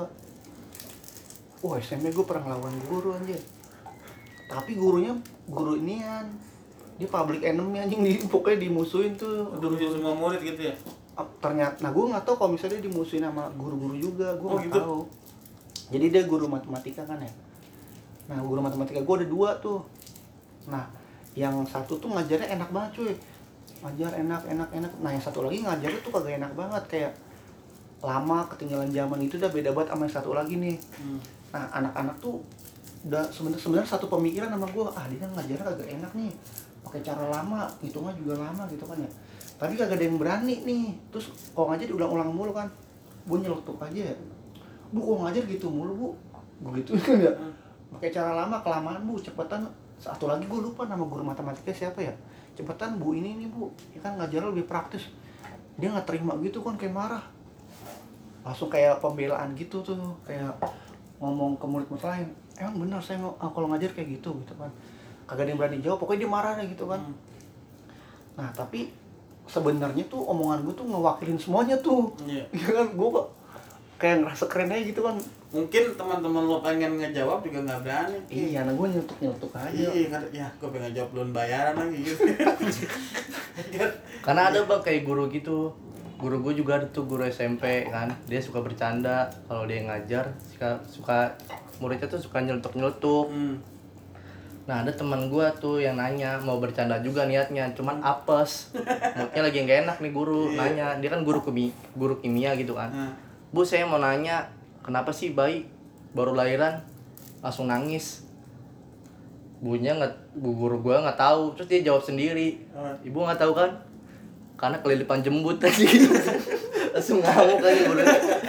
SMP gue pernah ngelawan guru anjir. Tapi gurunya, guru inian, dia public enemy anjing, pokoknya dimusuhin tuh. Udah semua murid gitu ya? Ternyata, nah gue nggak tahu kalau misalnya dia dimusuhin sama guru-guru juga, gue nggak gitu? tahu. Jadi dia guru matematika kan ya. Nah guru matematika gue ada 2 tuh. Nah yang satu tuh ngajarnya enak banget cuy, ngajar enak. Nah yang satu lagi ngajarnya tuh kagak enak banget, kayak lama, ketinggalan zaman itu udah beda banget sama yang satu lagi nih. Nah anak-anak tuh udah sebenarnya satu pemikiran sama gue, dia ngajarnya kagak enak nih, pakai cara lama, hitungnya juga lama gitu kan ya. Tapi kagak ada yang berani nih. Terus kalau ngajar diulang-ulang mulu kan, gue nyeletuk aja ya, bu kok ngajar gitu mulu bu, begitu kan ya, pakai cara lama, kelamaan bu, cepetan. Satu lagi gue lupa nama guru matematika siapa ya, cepetan bu ini nih bu, ya kan ngajar lebih praktis. Dia nggak terima gitu kan, kayak marah, langsung kayak pembelaan gitu tuh, kayak ngomong ke murid-murid lain, emang benar saya kalau ngajar kayak gitu kan, kagak ada yang berani jawab, pokoknya dia marah gitu kan. Nah tapi sebenarnya tuh omongan gue tuh ngewakilin semuanya tuh, ya kan, gue kok kayak ngerasa keren aja gitu kan. Mungkin teman-teman lo pengen ngejawab juga nggak berani. Iya, nah gue nyetuk aja. Iya, gue pengen ngejawab belum bayaran lagi gitu. Karena ada bang kayak guru gitu. Guru gue juga ada tuh, guru SMP kan. Dia suka bercanda kalau dia ngajar, suka muridnya tuh suka nyeletuk. Nah ada teman gue tuh yang nanya, mau bercanda juga niatnya, cuman apes. Moodnya lagi nggak enak nih guru, nanya. Dia kan guru kimia gitu kan. Bu saya mau nanya, kenapa sih bayi baru lahiran langsung nangis? Bu guru gua nggak tahu. Terus dia jawab sendiri, ibu nggak tahu kan? Karena kelilipan jembut tadi. Langsung ngamuk aja guru.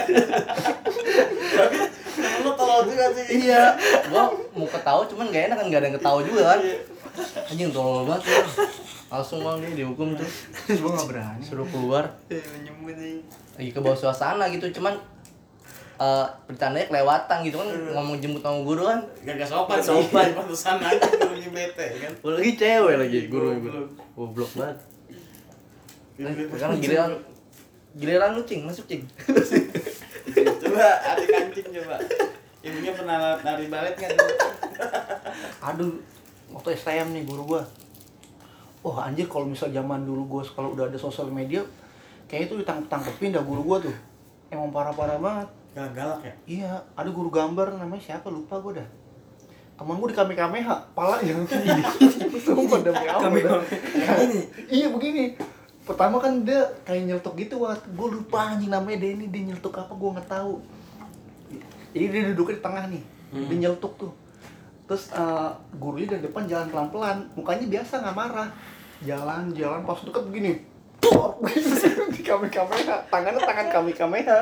Tapi lo tolol juga sih. Iya, gua mau ketawa cuman nggak enak kan, nggak ada yang ketawa juga kan. Anjing tolol banget ya. Langsung bang dia dihukum tuh. Gua nggak berani. Suruh keluar. Nyembut nih. Lagi ke bawah suasana gitu, cuman bercandanya kelewatan gitu kan, ngomong jemput sama guru kan Gak sopan. Pantesan aja gurunya bete kan. lagi cewek lagi guru goblok banget. Sekarang giliran lu cing, masuk cing. Coba adik kancing coba. Ibunya pernah nari balet kan? Aduh, waktu STM nih guru gua. Wah anjir, kalau misal zaman dulu gua kalau udah ada sosial media, kayak itu ditangkepin dah guru gua tuh. Emang parah-parah banget. Galak ya? Iya, ada guru gambar namanya siapa lupa gua dah. Temen gua di Kamehameha, pala yang gini. Sumpah demi Allah. Iya begini. Pertama kan dia kayak nyeletuk gitu, gua lupa anjing namanya Denny, dia nyeletuk apa gua nggak tahu. Jadi dia duduknya di tengah nih, dia nyeletuk tuh. Terus gurunya dari depan jalan pelan-pelan, mukanya biasa nggak marah, jalan pas deket begini, di Kamehameha, tangan Kamehameha.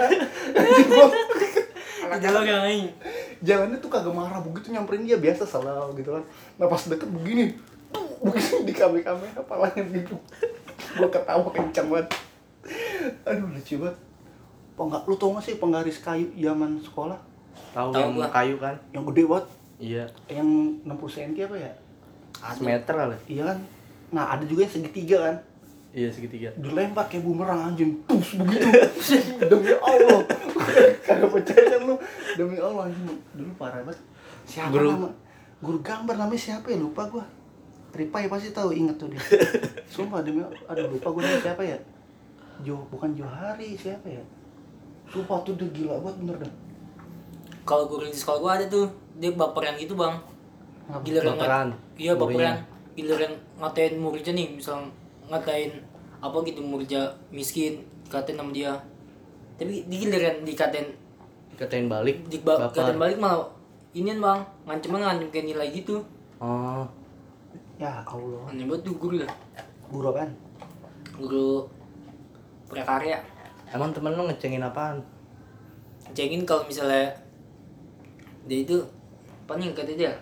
Jalannya tuh kagak marah, begitu nyamperin dia biasa selalu gitu kan. Nah pas deket begini di Kamehameha, palanya gitu. Gua ketawa kencang banget. Aduh lucu banget. Lu tau gak sih penggaris kayu zaman sekolah? Tahu yang kayu kan? Yang gede banget. Iya. Yang 60 cm apa ya? Meter kali. Iya kan? Nah ada juga yang segitiga kan? Iya segitiga. Dilempar kayak bumerang anjing. Pus begitu. Demi Allah. Kagak percaya lu. Demi Allah anjing. Dulu parah banget. Siapa nama? Guru gambar namanya siapa ya? Lupa gua. Ripai pasti tahu, inget tuh dia. Sumpah demi lupa gua namanya siapa ya? Bukan Johari, siapa ya? Sumpah tuh dia gila banget bener dah. Kalau guru di sekolah gua ada tuh, dia baperan gitu bang. Baperan. Iya baperan. Giliran ngatain muridnya nih, misal ngatain apa gitu muridnya miskin, dikatain sama dia. Tapi di giliran dikatain balik. Dikatain balik malah inian bang, ngancem kayak nilai gitu. Oh. Ya Allah. Aneh banget tuh guru lah. Guru apaan? Guru prakarya. Emang temen lu ngecengin apaan? Cengin kalau misalnya dia itu apa nih kata dia?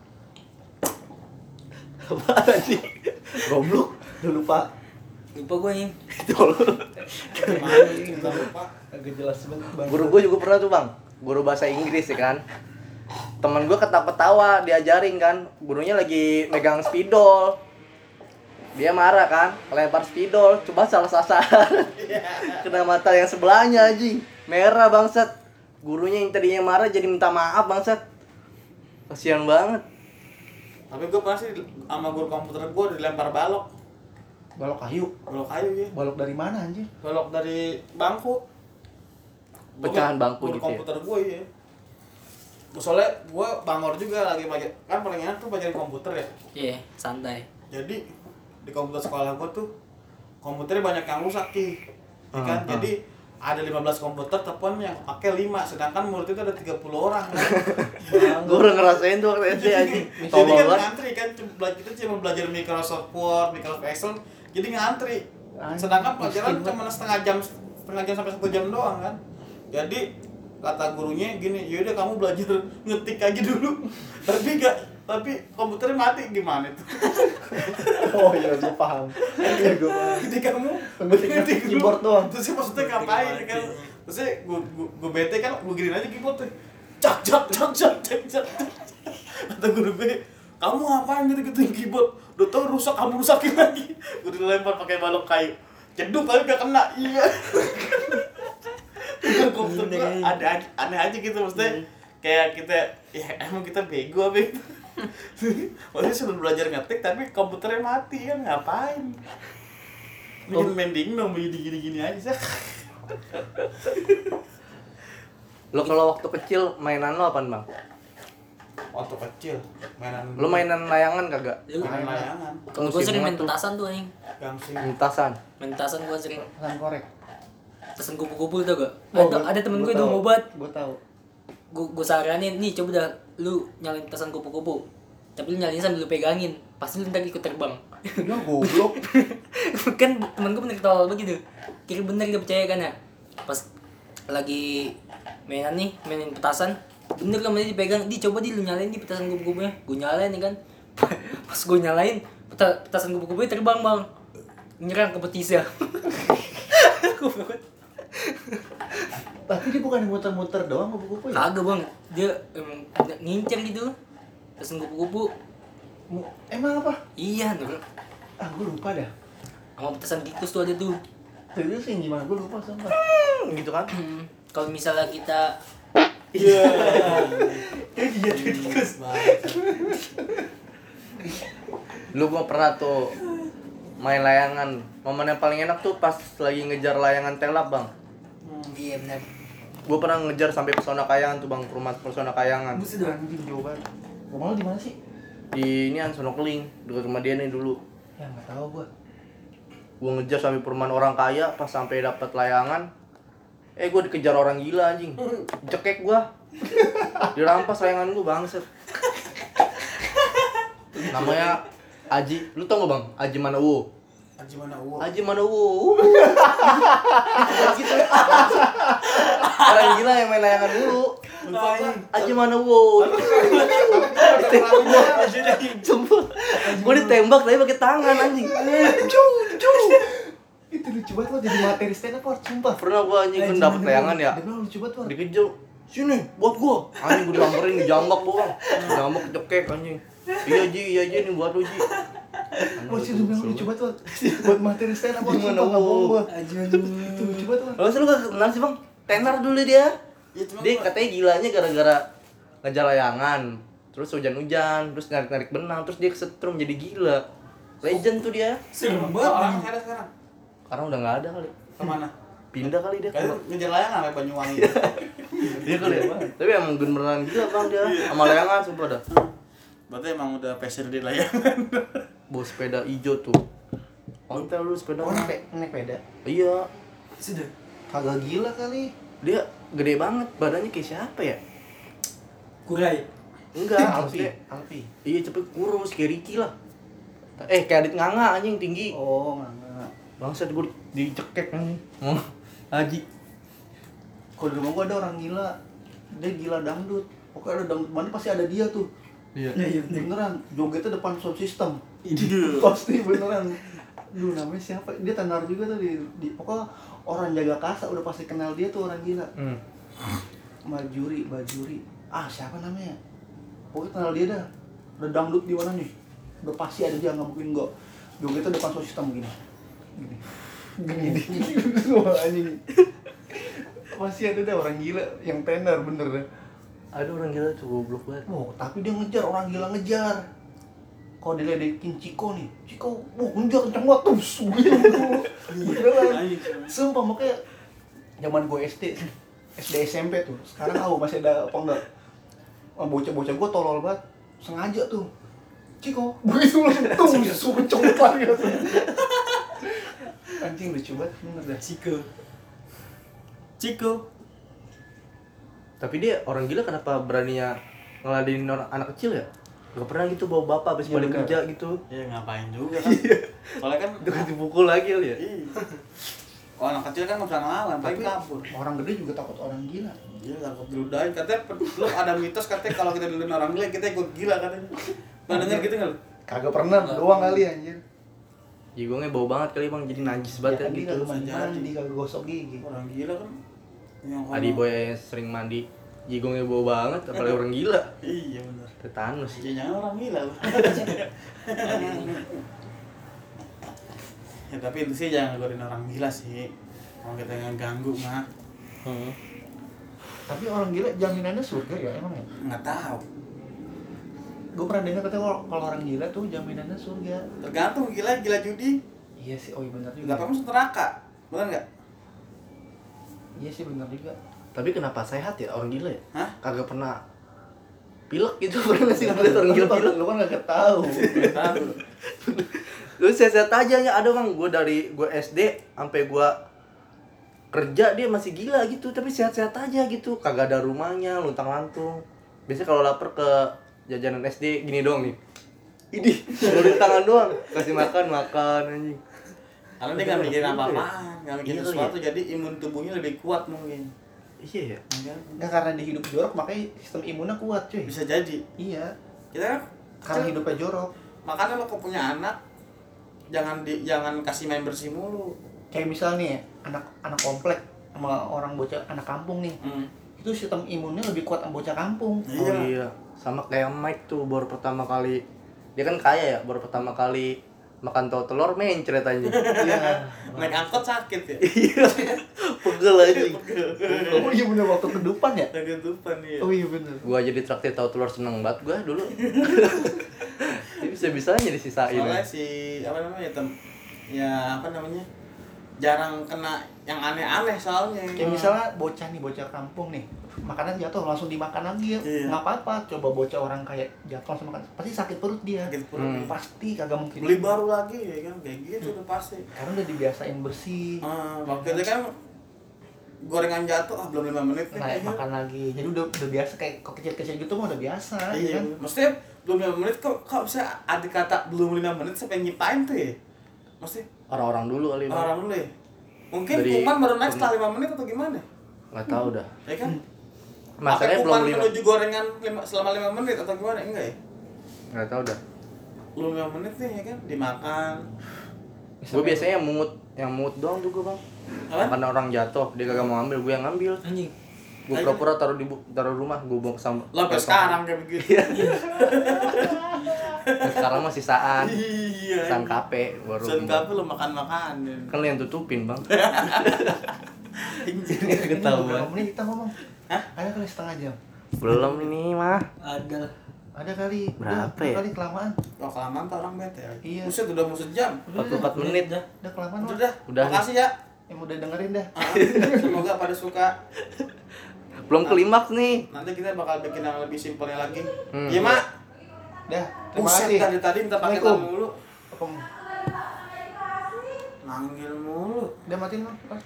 Apaan sih? Goblok. Udah lupa. Lupa gue nih. Gimana nih, kita lupa. Agak jelas banget bang. Guru gue juga pernah tuh bang, guru bahasa Inggris ya kan. Temen gue ketawa-tawa diajarin kan, gurunya lagi megang spidol. Dia marah kan, lempar spidol, coba salah sasaran. Kena mata yang sebelahnya anjing, merah bangsat. Gurunya yang tadinya marah jadi minta maaf bangsat. Kasian banget. Tapi gue pernah sih sama guru komputer gue dilempar balok. Balok kayu. Balok kayu ya. Balok dari mana anjir? Balok dari bangku. Pecahan bangku guru gitu ya? komputer gue ya. Soalnya gue bangor juga lagi belajar, kan paling enak tuh belajar komputer ya. Iya, santai. Jadi di komputer sekolah gue tuh komputernya banyak yang rusak Ki. Ya kan? Jadi ada 15 komputer telepon yang pakai 5, sedangkan murid itu ada 30 orang kan. Gue udah ngerasain tuh waktu SD anjing. Jadi Tolol kan banget. ngantri kan, kita cuma belajar Microsoft Word, Microsoft Excel, jadi ngantri. Sedangkan pelajaran cuma setengah jam sampai 1 jam doang kan. Jadi kata gurunya gini, yaudah kamu belajar ngetik aja dulu. tapi komputernya mati gimana tuh? Oh iya, gue paham. Iya, gue paham. Jadi kamu Ngetik keyboard doang. Terus maksudnya ngapain kan? Terus gue bete kan, gue giniin aja keyboard tuh. Cak. Kata guru gue, kamu ngapain gitu-gituin keyboard? Udah tau rusak, kamu rusakin lagi. Gue dilempar pakai balok kayu. Ceduk tapi gak kena. Iya. Komputer gue ada aneh aja gitu maksudnya. Kayak kita, ya emang kita bego apa gitu. Maksudnya sudah belajar ngetik tapi komputernya mati kan, ngapain? Bikin mending dong, gini-gini aja sih. Lo kalau waktu kecil mainan lo apaan bang? Waktu kecil mainan Lo mainan layangan kagak? mainan layangan, Kalau gue sering main Musim banget petasan tuh anjing. gangsing. Petasan. Main petasan gue sering. Pesan korek. Petasan kupu-kupu tau gak? Oh, Ada temen gue tahu. udah ngobat. Gue tahu. Gue saranin nih coba dah lu nyalain petasan kupu-kupu. Tapi lu nyalain sambil lu pegangin. Pasti lu ntar ikut terbang. Ya goblok. Kan temen gue bener ketawa begitu. Kira bener gak percaya kan ya? Pas lagi mainin petasan, bener kan dia dipegang, coba lu nyalain di petasan kupu-kupunya. Gue nyalain ya kan. Pas gue nyalain, petasan kupu-kupunya terbang bang, nyerang ke betisnya. Tapi dia bukan muter-muter doang kupu-kupu ya? Kagak bang, dia emang ngincer gitu petasan kupu-kupu. Emang apa? Iya nur, Ah, gue lupa dah. sama petasan tikus tuh ada tuh. Serius sih gimana? Gue lupa sumpah. Gitu kan? Kalau misalnya kita Iya. Iya, tikus. Lu gua pernah tuh main layangan. Momen yang paling enak tuh pas lagi ngejar layangan telap bang. iya benar. Gua pernah ngejar sampai Pesona Kayangan tuh bang, rumah Pesona Kayangan. Buset dah anjing jauh banget. Rumah lu di mana sih? Di ini kan Sono Keling, dekat rumah dia nih dulu. Ya enggak tahu gua. Gua ngejar sampai perumahan orang kaya, pas sampai dapat layangan, gua dikejar orang gila anjing. Cekek gua. Dirampas layangan gua bangset. Namanya Aji, lu tau gak bang? Aji Manowo. Haji mana uang? Aji Manowo. Gitu. Orang gila yang main layangan dulu. Aji Manowo. Sumpah. Gua ditembak tapi pakai tangan anjing. Itu lucu banget lo jadi materi stand up art, sumpah. Pernah gua anjing kan dapet layangan ya. Dia bilang lucu banget War. Dikejar. Sini buat gua. Anjing gua disamperin, dijambak gua bang. Dijambak cekek anjing. Iya Ji ini buat lu Ji. Oh sih lu bilang lucu banget War. Buat materi stand up art, Gimana, sumpah nggak bohong gua. Aduh. Itu lucu banget War. Lalu lu gak kenal sih bang? Tenar dulu dia. Ya, cuma Dia gua- katanya gilanya gara-gara ngejar layangan. Terus hujan-hujan, terus narik-narik benang, terus dia kesetrum jadi gila. Legend tuh dia. Serem Orang banget. ada sekarang. Sekarang udah nggak ada kali. Kemana? Pindah kali dia. Kayaknya ngejar layangan sampai Banyuwangi. Dia kali ya. Tapi emang beneran gila bang dia. Sama layangan sumpah dah. Berarti emang udah passion di layangan. Bawa sepeda hijau tuh. Ontel lu sepeda. Oh, naik peda. Iya. Sudah. Kagak gila kali. Dia gede banget, badannya kayak siapa ya? Kurai. Enggak, Alpi. maksudnya Alpi. iya cepet kurus kayak Ricky lah. Kayak Adit Nganga anjing tinggi. Oh, enggak. Bangsat gue dicekek anjing. Haji. Kalau di rumah gua ada orang gila. Dia gila dangdut. Pokoknya ada dangdut mana pasti ada dia tuh. Iya. Beneran, jogetnya depan sound system. Pasti beneran. Duh, namanya siapa? Dia tenar juga tuh di pokoknya orang jaga kasa udah pasti kenal dia tuh orang gila. Bajuri. Ah, siapa namanya? Pokoknya kenal dia dah. Udah dangdut di mana nih? Udah pasti ada dia, nggak mungkin enggak. Jogetnya depan sound system gini. Wah, anjing. Pasti ada dah orang gila yang tenar bener dah. Ada orang gila tuh goblok banget. Oh, tapi dia ngejar, orang gila ngejar. Kalau diledekin Ciko nih, Ciko, ngejar kenceng banget tuh, begitu. Beneran. Sumpah, makanya zaman gue SD SMP tuh. Sekarang masih ada apa enggak? Bocah-bocah gue tolol banget. Sengaja tuh. Ciko, begitu langsung tuh, kenceng banget. Anjing lucu banget, bener dah. Ciko. Tapi dia orang gila kenapa beraninya ngeladenin anak kecil ya? Gak pernah gitu bawa bapak habis Iya, balik bener. kerja gitu. Ya ngapain juga kan. Soalnya kan Itu kan dipukul lagi ya. iya. Oh, anak kecil kan nggak bisa ngelawan, paling kabur. Orang gede juga takut orang gila. Iya, takut diludahin. Katanya lu ada mitos katanya kalau kita diludahin orang gila, kita ikut gila katanya. Pernah denger gitu nggak lu? Kagak pernah, doang kali anjir. Jigongnya bau banget kali bang, jadi najis banget Ya, ya, dia gitu. kagak mandi, kagak gosok gigi. Orang gila kan. Yang Adi boy yang sering mandi, jigongnya bau banget, apalagi orang gila. Iya benar. Tetanus. Ya jangan orang gila lu. Ya tapi itu sih jangan ngorin orang gila sih. Kalau kita ngeganggu mah Tapi orang gila jaminannya surga ya emang ya? nggak tahu. Gue pernah dengar katanya kalau orang gila tuh jaminannya surga. Tergantung gila judi. Iya sih, oh iya benar juga. Nggak apa masuk neraka, benar nggak? Iya sih benar juga. Tapi kenapa sehat ya orang gila ya? Hah? Kagak pernah pilek gitu, pernah sih ngeliat orang gila pilek. Lu kan gak tahu. Nggak tahu. Lu sehat aja ya, ada bang, gue SD sampai gue kerja dia masih gila gitu, tapi sehat-sehat aja gitu, kagak ada rumahnya, luntang-lantung. Biasanya kalau lapar ke jajanan SD gini doang nih, ini ngeluarin tangan doang, kasih makan anjing. Karena dia nggak mikirin apa-apaan, nggak mikirin Iya, sesuatu, jadi imun tubuhnya lebih kuat mungkin. Iya ya. Ya kan? Nggak, karena dia hidup jorok makanya sistem imunnya kuat cuy. Bisa jadi. Iya. Kita kan Karena hidupnya jorok. makanya lo kok punya anak, jangan kasih main bersih mulu. Kayak misalnya anak komplek sama orang bocah anak kampung nih. Itu sistem imunnya lebih kuat sama bocah kampung. Iya. Oh iya, sama kayak Mike tuh baru pertama kali, dia kan kaya ya, baru pertama kali makan tahu telur mencret aja. Iya. Naik angkot sakit ya. Iya, pegel aja. Oh iya bener, waktu kedupan ya? Kegetupan ya. Oh iya bener. Gua jadi traktir tahu telur seneng banget gua dulu. Ini bisa-bisanya disisain. Soalnya si apa namanya ya apa namanya jarang kena yang aneh-aneh soalnya. Kayak misalnya bocah kampung nih, makanan jatuh langsung dimakan lagi ya. Iya. Nggak apa-apa, coba bocah orang kayak jatuh langsung makan, pasti sakit perut dia. Sakit perut. Pasti kagak mungkin. Beli baru lagi ya kan kayak gitu udah pasti. Karena udah dibiasain bersih. Waktu itu kan gorengan jatuh belum 5 menit Nah, kayaknya. makan lagi. Jadi udah biasa kayak kok kecil-kecil gitu mah udah biasa, ya Iya kan? maksudnya belum 5 menit kok bisa ada kata belum 5 menit sampai nyipain tuh ya. Maksudnya Orang-orang dulu kali. Bang. orang dulu ya. Mungkin Dari- kuman baru naik setelah 5 menit atau gimana? Nggak tahu dah. Ya kan? Masalahnya Apa belum kuman 5. menuju gorengan selama 5 menit atau gimana? Enggak ya? Nggak tahu dah. Belum 5 menit nih ya kan dimakan. Gue biasanya yang mungut doang tuh gue bang. Apa? Karena orang jatuh, dia kagak mau ngambil, gue yang ngambil. Anjing. Gue pura-pura taruh rumah, gue buang ke sampah. Lo sampai sekarang kayak begitu. Sekarang masih sisaan. Iya. Sisaan kape baru. Sen kafe lo makan-makan. Kan lu yang tutupin bang. Anjir. Ketahuan. Berapa menit kita ngomong? Hah? Ada kali setengah jam. Belum ini mah. Ada. Ada kali. Berapa Udah ya? kali kelamaan. Wah kelamaan tuh orang bete ya. Iya. Buset udah mau sejam. 44 menit dah. Udah kelamaan Udah Mas. dah. Udah. Makasih ya. Yang udah dengerin dah. Semoga pada suka. Belum klimaks nih. Nanti kita bakal bikin yang lebih simpelnya lagi. Hmm. Iya mak. Dah, terima Buset kasih. tadi minta pakai Assalamualaikum. mulu. Apa? Manggil mulu. Udah matiin Mas.